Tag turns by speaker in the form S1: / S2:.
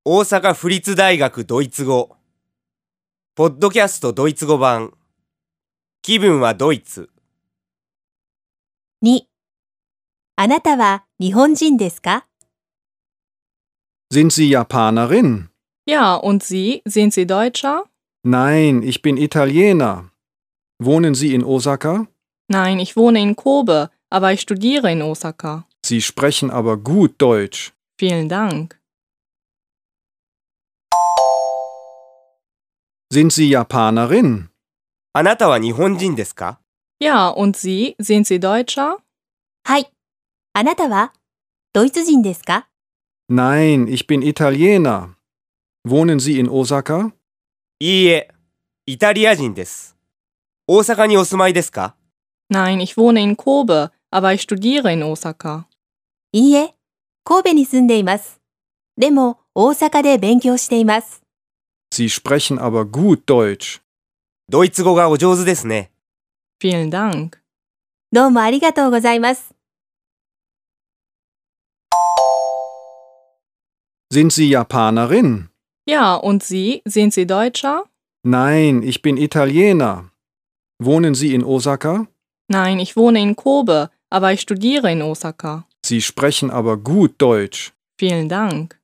S1: 大阪府立大学ドイツ語ポッドキャストドイツ語版気分はドイツ。
S2: 2. あなたは日本人ですか？
S3: Sind Sie Japanerin?
S4: Ja, und Sie? Sind Sie Deutscher?
S3: Nein, ich bin Italiener. Wohnen Sie in Osaka?
S4: Nein, ich wohne in Kobe, aber ich studiere in Osaka.
S3: Sie sprechen aber gut Deutsch.
S4: Vielen Dank.
S3: Sind Sie Japanerin?
S1: あなたは日本人ですか？
S4: Ja, und Sie? Sind Sie Deutscher?
S2: はい。あなたはドイツ人ですか？
S3: Nein, ich bin Italiener. Wohnen Sie in Osaka?
S1: いいえ、イタリア人です。大阪にお住まいですか？
S4: Nein, ich wohne in Kobe, aber ich studiere in Osaka.
S2: いいえ、神戸に住んでいます。でも大阪で勉強しています。
S3: Sie sprechen aber gut Deutsch.
S1: ドイツ語がお上手ですね。
S4: Vielen Dank.
S2: どうもありがとうございます。
S3: Sind Sie Japanerin?
S4: Ja, und Sie? Sind Sie Deutscher?
S3: Nein, ich bin Italiener. Wohnen Sie in Osaka?
S4: Nein, ich wohne in Kobe, aber ich studiere in Osaka.
S3: Sie sprechen aber gut Deutsch.
S4: Vielen Dank.